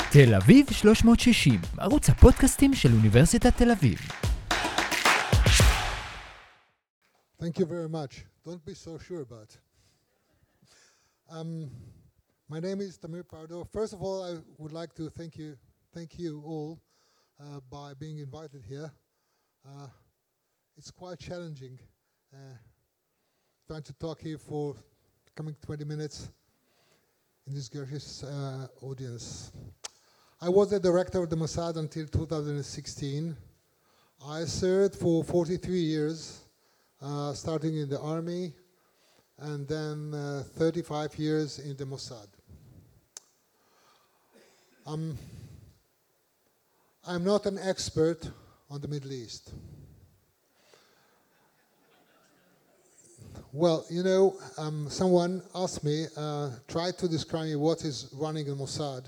תל אביב 360, ערוץ הפודקאסטים של אוניברסיטת תל אביב. Thank you very much. Don't be so sure about it. My name is Tamir Pardo. First of all, I would like to thank you all by being invited here. It's quite challenging trying to talk here for coming 20 minutes in this gorgeous audience. I was the director of the Mossad until 2016. I served for 43 years, starting in the army, and then 35 years in the Mossad. I'm not an expert on the Middle East. Well, you know, someone asked me, try to describe me what is running a Mossad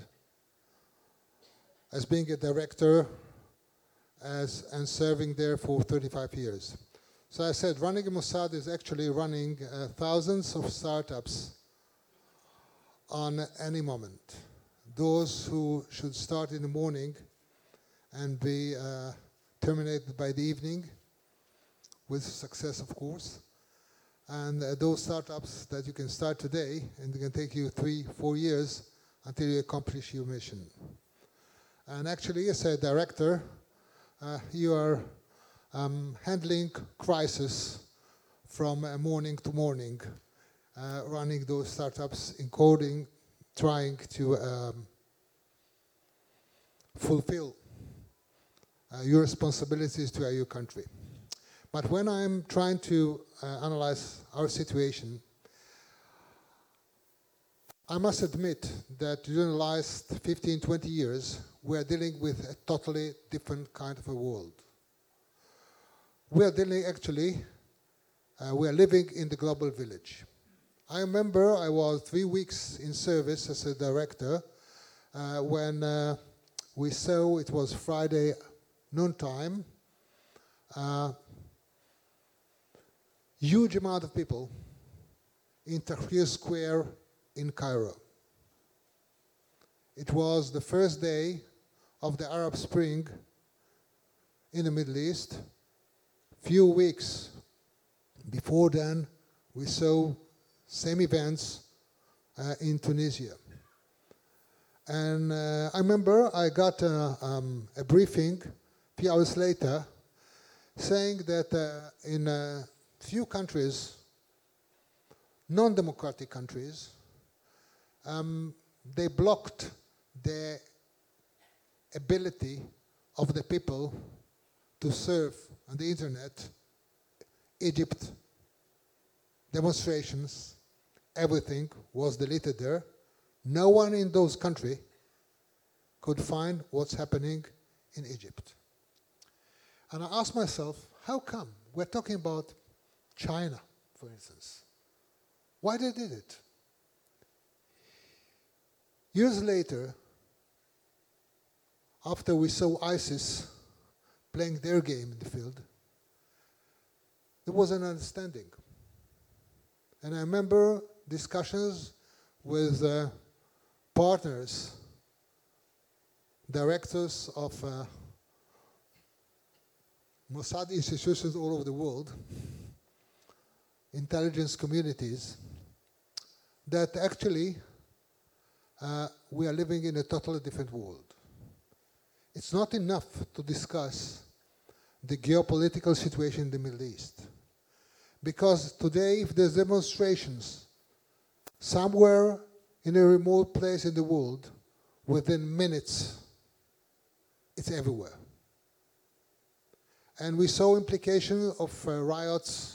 as being a director and serving there for 35 years. So I said, running a Mossad is actually running thousands of startups on any moment. Those who should start in the morning and be terminated by the evening, with success, of course. And those startups that you can start today, and it can take you 3-4 years until you accomplish your mission. And actually, as a director, you are handling crisis from morning to morning, running those startups, encoding, trying to fulfill your responsibilities to your country. But when I'm trying to analyze our situation, I must admit that during the last 15-20 years, we are dealing with a totally different kind of a world. We are dealing we are living in the global village. I remember I was 3 weeks in service as a director when we saw it was Friday noontime. Huge amount of people in Tahrir Square in Cairo. It was the first day of the Arab Spring in the Middle East. Few weeks before then, we saw same events in Tunisia. And I remember I got a briefing a few hours later saying that in few countries, non-democratic countries, they blocked the ability of the people to surf on the internet. Egypt, demonstrations, everything was deleted there. No one in those countries could find what's happening in Egypt. And I asked myself, how come? We're talking about China, for instance. Why they did it? Years later, after we saw ISIS playing their game in the field, there was an understanding. And I remember discussions with partners, directors of Mossad institutions all over the world, intelligence communities, that actually we are living in a totally different world. It's not enough to discuss the geopolitical situation in the Middle East. Because today, if there's demonstrations somewhere in a remote place in the world, within minutes, it's everywhere. And we saw implications of riots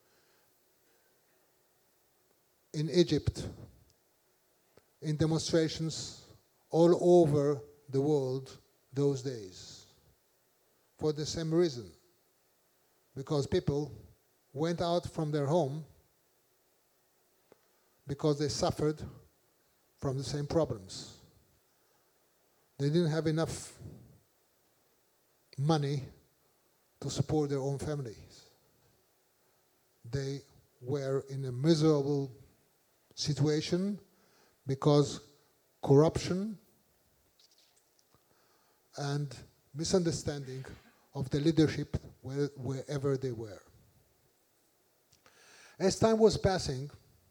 in Egypt, in demonstrations all over the world those days, for the same reason, because people went out from their home because they suffered from the same problems. They didn't have enough money to support their own families. They were in a miserable situation because corruption and misunderstanding of the leadership wherever they were. As time was passing,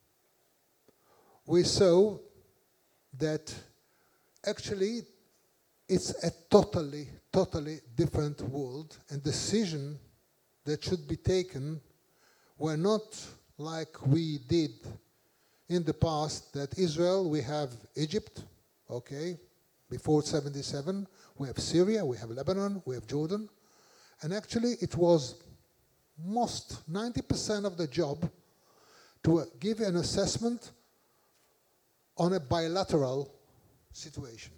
we saw that actually it's a totally different world, and decisions that should be taken were not like we did in the past, that Israel, we have Egypt, okay, before 77, we have Syria, we have Lebanon, we have Jordan, and actually it was 90% of the job to give an assessment on a bilateral situation.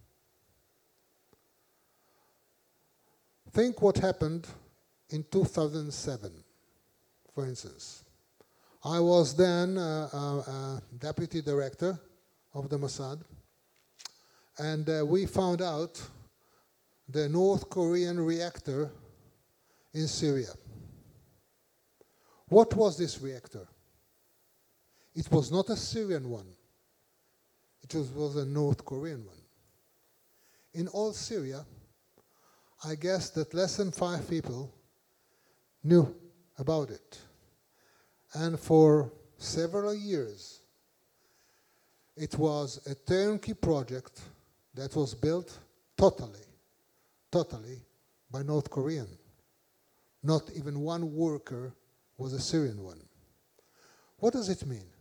Think what happened in 2007, for instance. I was then deputy director of the Mossad, and we found out the North Korean reactor in Syria. What was this reactor? It was not a Syrian one. It was a North Korean one. In all Syria, I guess that less than 5 people knew about it. And for several years, it was a turnkey project that was built totally by North Korean. Not even one worker was a Syrian one. What does it mean?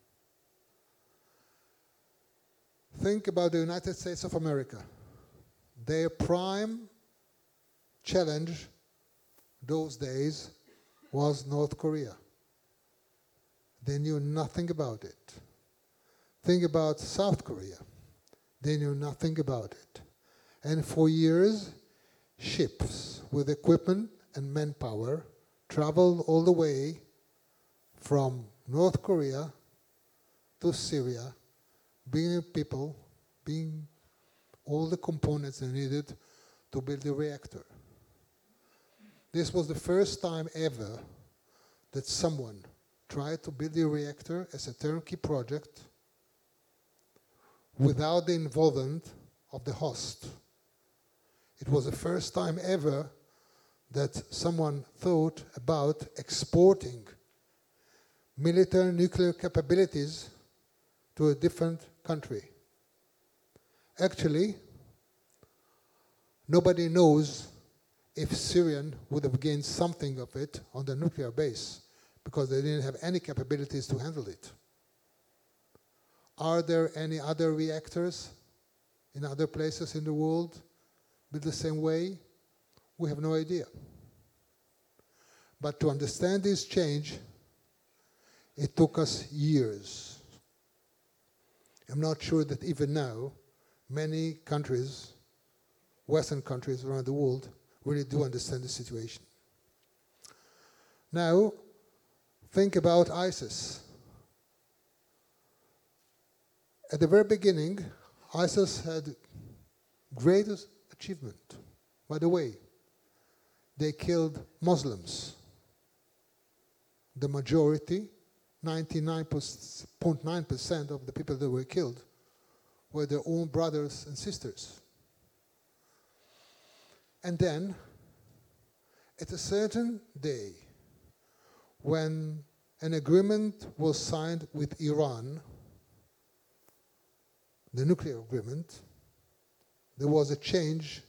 Think about the United States of America. Their prime challenge those days was North Korea. They knew nothing about it. Think about South Korea. They knew nothing about it. And for years, ships with equipment and manpower traveled all the way from North Korea to Syria, bringing people, bringing all the components they needed to build the reactor. This was the first time ever that someone tried to build a reactor as a turnkey project without the involvement of the host. It was the first time ever that someone thought about exporting military nuclear capabilities to a different country. Actually, nobody knows if Syrian would have gained something of it on the nuclear base, because they didn't have any capabilities to handle it. Are there any other reactors in other places in the world built the same way? We have no idea. But to understand this change, it took us years. I'm not sure that even now, many countries, Western countries around the world, really do understand the situation. Now, think about ISIS. At the very beginning, ISIS had greatest achievement. By the way, they killed Muslims. The majority, 99.9% of the people that were killed were their own brothers and sisters. And then, at a certain day, when an agreement was signed with Iran, the nuclear agreement, there was a change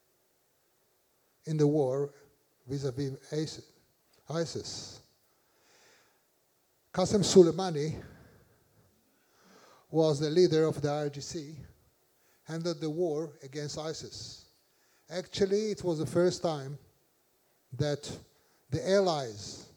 in the war vis-à-vis ISIS. Qasem Soleimani was the leader of the IRGC, handled the war against ISIS. Actually, it was the first time that the allies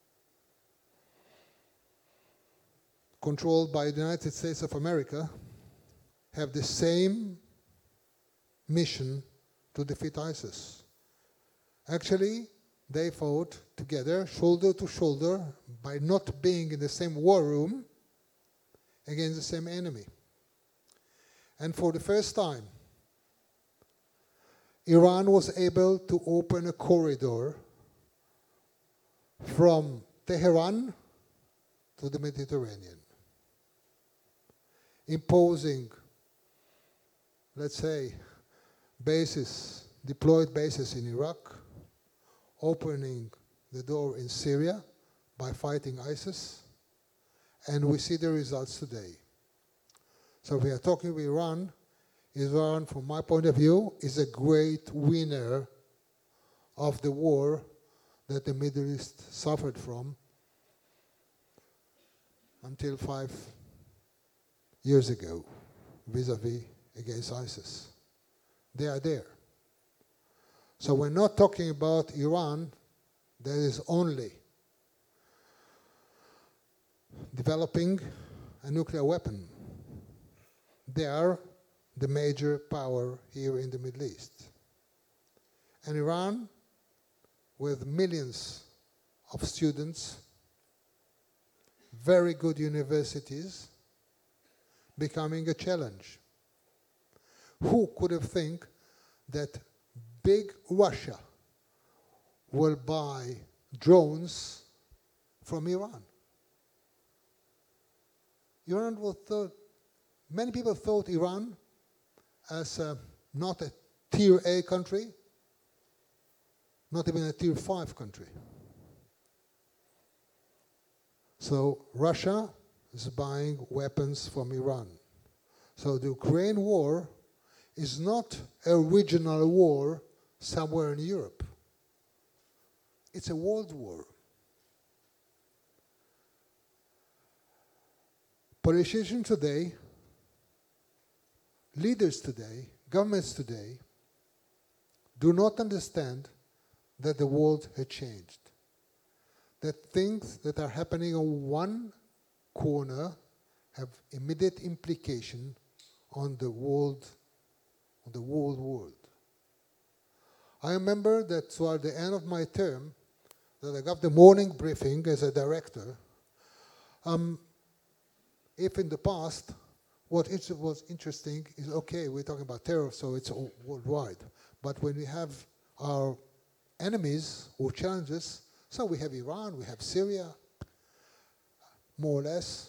controlled by the United States of America have the same mission to defeat ISIS. Actually, they fought together, shoulder to shoulder, by not being in the same war room against the same enemy. And for the first time, Iran was able to open a corridor from Tehran to the Mediterranean, imposing, let's say, bases, deployed bases in Iraq, opening the door in Syria by fighting ISIS, and we see the results today. So we are talking with Iran. Iran, from my point of view, is a great winner of the war that the Middle East suffered from until 5 years ago, vis-a-vis against ISIS. They are there. So we're not talking about Iran that is only developing a nuclear weapon. They are the major power here in the Middle East. And Iran, with millions of students, very good universities, becoming a challenge. Who could have think that big Russia will buy drones from Iran? Many people thought Iran as not a tier A country, not even a tier 5 country. So Russia is buying weapons from Iran. So the Ukraine war is not a regional war somewhere in Europe. It's a world war. Politicians today, leaders today, governments today, do not understand that the world had changed. That things that are happening on one corner have immediate implication on the world, world. I remember that toward the end of my term, that I got the morning briefing as a director. If in the past, what was interesting is, okay, we're talking about terror, so it's all worldwide. But when we have our enemies or challenges, so we have Iran, we have Syria, more or less.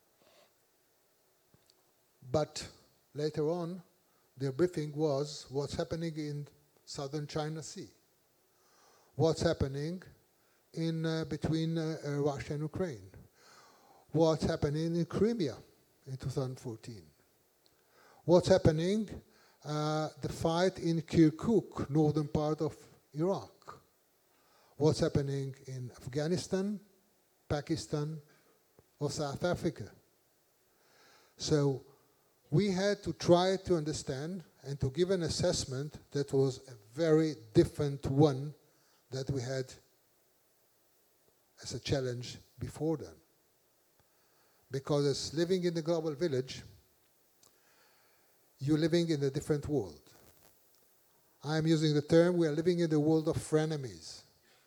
But later on, their briefing was what's happening in southern China Sea, what's happening in between Russia and Ukraine, what's happening in Crimea in 2014, what's happening, the fight in Kirkuk, northern part of Iraq, what's happening in Afghanistan, Pakistan, or South Africa. So we had to try to understand and to give an assessment that was a very different one that we had as a challenge before then. Because as living in the global village, you're living in a different world. I'm using the term, we are living in the world of frenemies.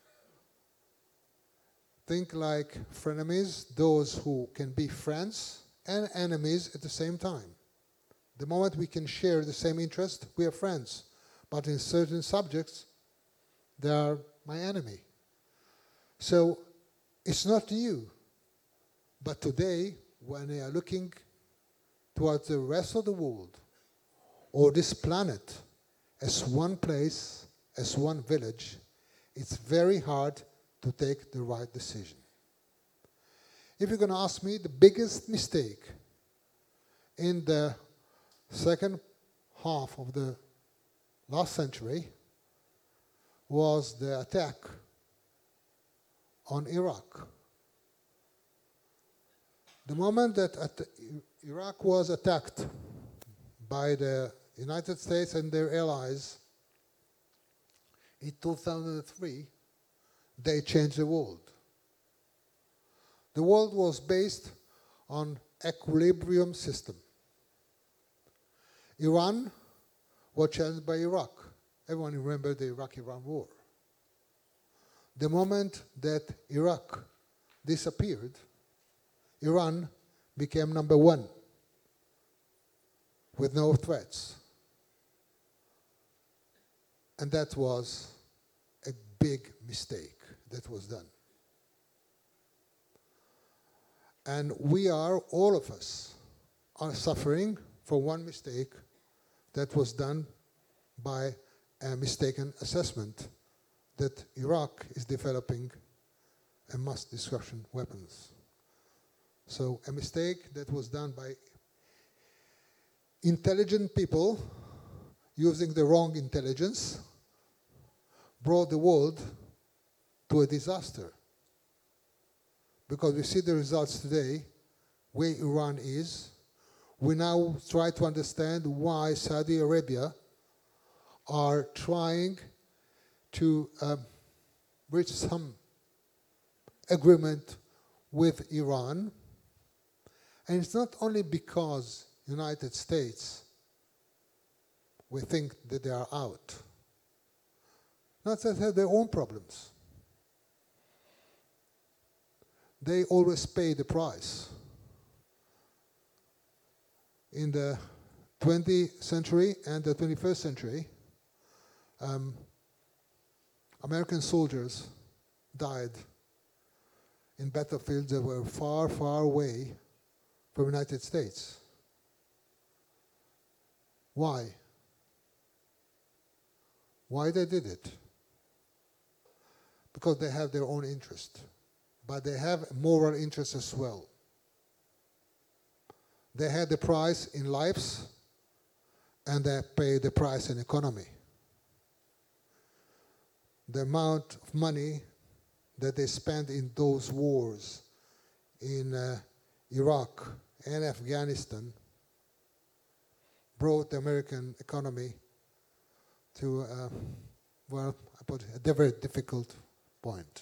Think like frenemies, those who can be friends and enemies at the same time. The moment we can share the same interest, we are friends. But in certain subjects, they are my enemy. So it's not new. But today, when we are looking towards the rest of the world, or this planet, as one place, as one village, it's very hard to take the right decision. If you're going to ask me, the biggest mistake in the second half of the last century was the attack on Iraq. The moment that Iraq was attacked by the United States and their allies in 2003, they changed the world. The world was based on equilibrium system. Iran was challenged by Iraq. Everyone remembers the Iraq-Iran war. The moment that Iraq disappeared, Iran became number one with no threats. And that was a big mistake that was done. And we are, all of us, are suffering for one mistake that was done by a mistaken assessment that Iraq is developing a mass destruction weapons. So a mistake that was done by intelligent people using the wrong intelligence brought the world to a disaster. Because we see the results today, where Iran is. We now try to understand why Saudi Arabia are trying to reach some agreement with Iran. And it's not only because United States, we think that they are out. Not that they have their own problems. They always pay the price. In the 20th century and the 21st century, American soldiers died in battlefields that were far, far away from the United States. Why? Why they did it? Because they have their own interest, but they have moral interest as well. They had the price in lives, and they paid the price in economy. The amount of money that they spent in those wars in Iraq and Afghanistan brought the American economy to, well, I put it, a very difficult point.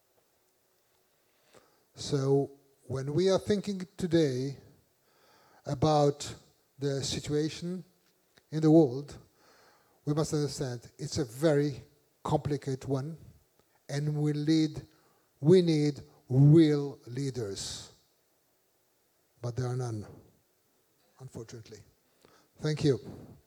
So when we are thinking today about the situation in the world, we must understand it's a very complicated one, and we need real leaders. But there are none, unfortunately. Thank you.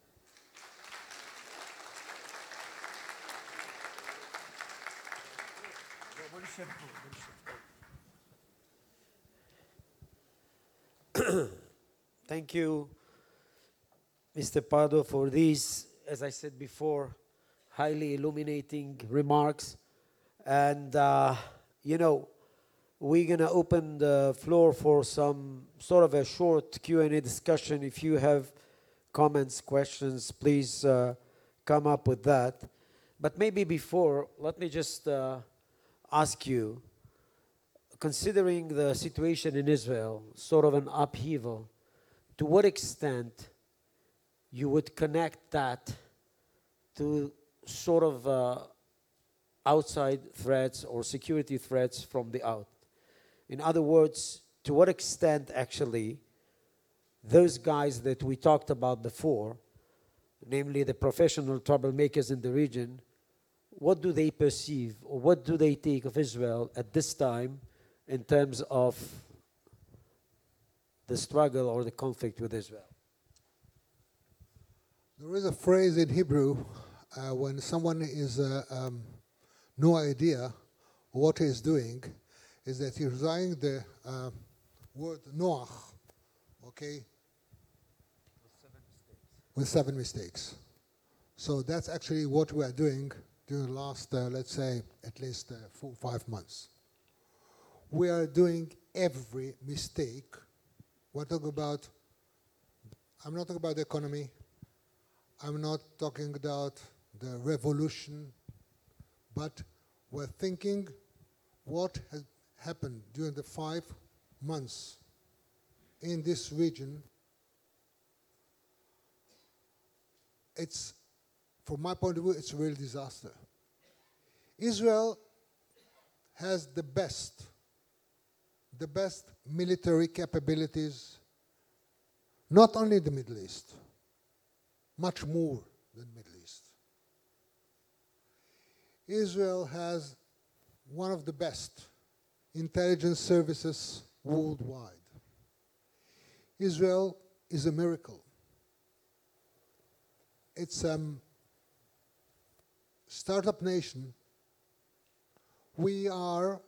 Thank you, Mr. Pardo, for these, as I said before, highly illuminating remarks. And, you know, we're going to open the floor for some sort of a short Q&A discussion. If you have comments, questions, please come up with that. But maybe before, let me just ask you, considering the situation in Israel, sort of an upheaval, to what extent you would connect that to sort of outside threats or security threats from the out? In other words, to what extent actually those guys that we talked about before, namely the professional troublemakers in the region, what do they perceive or what do they take of Israel at this time in terms of the struggle or the conflict with Israel? There is a phrase in Hebrew when someone is no idea what he is doing, is that he's using the word Noach, okay, with 7 mistakes. So that's actually what we are doing during the last, let's say, at least 4 or 5 months. We are doing every mistake. We're talking about, I'm not talking about the economy. I'm not talking about the revolution, but we're thinking what has happened during the 5 months in this region. It's, from my point of view, it's a real disaster. Israel has the best military capabilities, not only in the Middle East, much more than Middle East. Israel has one of the best intelligence services worldwide. Israel is a miracle. It's a startup nation. We are,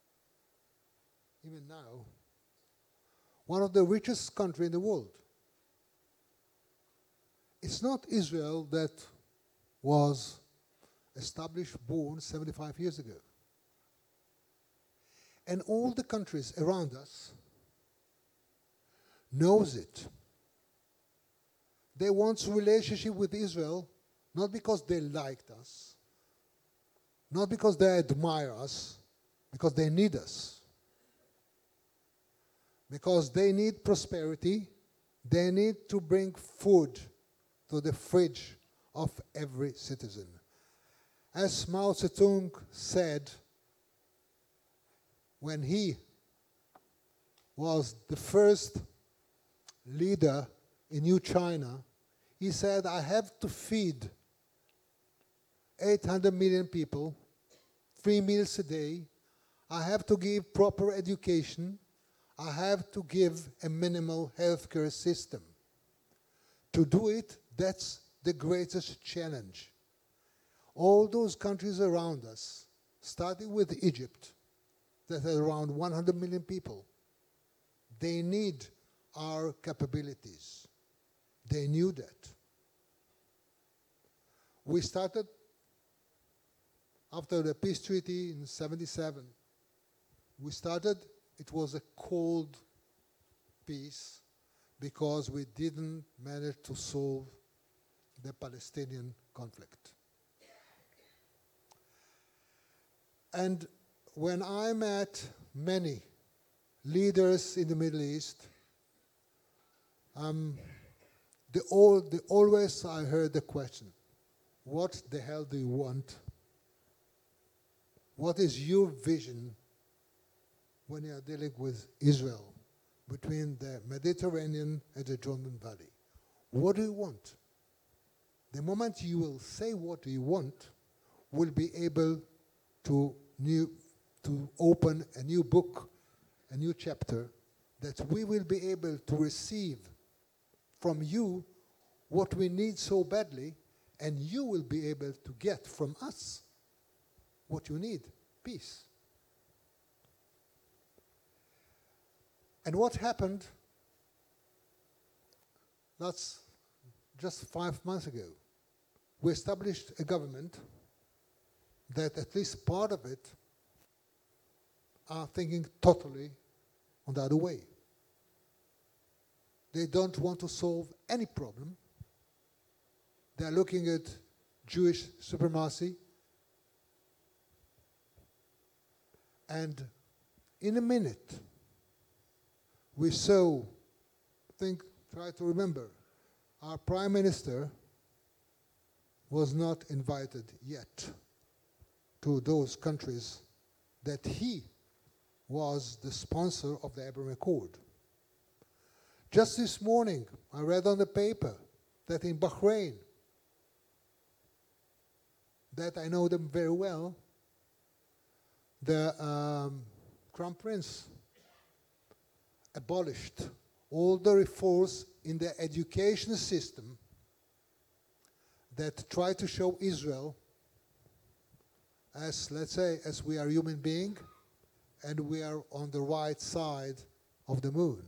even now, one of the richest countries in the world. It's not Israel that was established, born 75 years ago. And all the countries around us knows it. They want a relationship with Israel, not because they liked us, not because they admire us, because they need us. Because they need prosperity, they need to bring food to the fridge of every citizen. As Mao Zedong said when he was the first leader in New China, he said, I have to feed 800 million people, 3 meals a day. I have to give proper education. I have to give a minimal healthcare system. To do it, that's the greatest challenge. All those countries around us, starting with Egypt, that has around 100 million people, they need our capabilities. They knew that. We started after the peace treaty in 1977. We started, it was a cold peace because we didn't manage to solve the Palestinian conflict. And when I met many leaders in the Middle East, always I heard the question, what the hell do you want? What is your vision when you are dealing with Israel between the Mediterranean and the Jordan Valley? What do you want? The moment you will say what you want, we'll be able to open a new book, a new chapter, that we will be able to receive from you what we need so badly, and you will be able to get from us what you need, peace. And what happened, that's just 5 months ago. We established a government that at least part of it are thinking totally on the other way. They don't want to solve any problem. They're looking at Jewish supremacy. And in a minute, we saw, try to remember, our Prime Minister was not invited yet to those countries that he was the sponsor of the Abraham Accord. Just this morning, I read on the paper that in Bahrain, that I know them very well, the Crown Prince abolished all the reforms in the education system that try to show Israel as, let's say, as we are human beings and we are on the right side of the moon.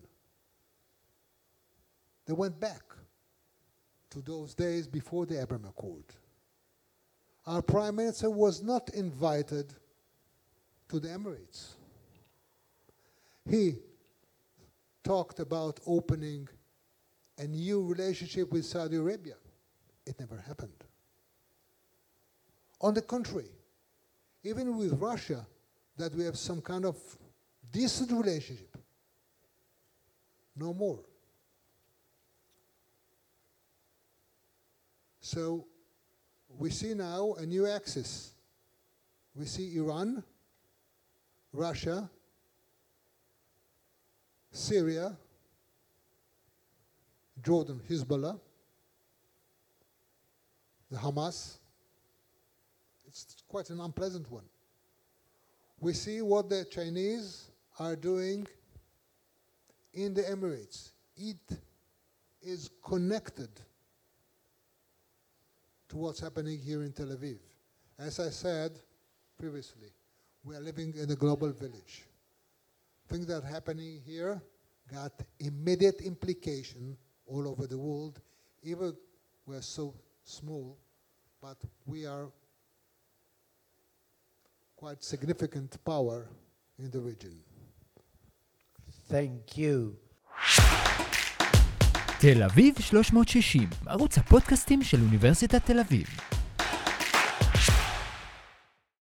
They went back to those days before the Abraham Accord. Our Prime Minister was not invited to the Emirates. He talked about opening a new relationship with Saudi Arabia. It never happened. On the contrary, even with Russia, that we have some kind of decent relationship, no more. So we see now a new axis. We see Iran, Russia, Syria, Jordan, Hezbollah, the Hamas. It's quite an unpleasant one. We see what the Chinese are doing in the Emirates. It is connected to what's happening here in Tel Aviv. As I said previously, we are living in a global village. Things that are happening here got immediate implication all over the world. Even we're so small, but we are quite significant power in the region. Thank you. תל אביב 360, ערוץ הפודקאסטים של אוניברסיטת תל אביב.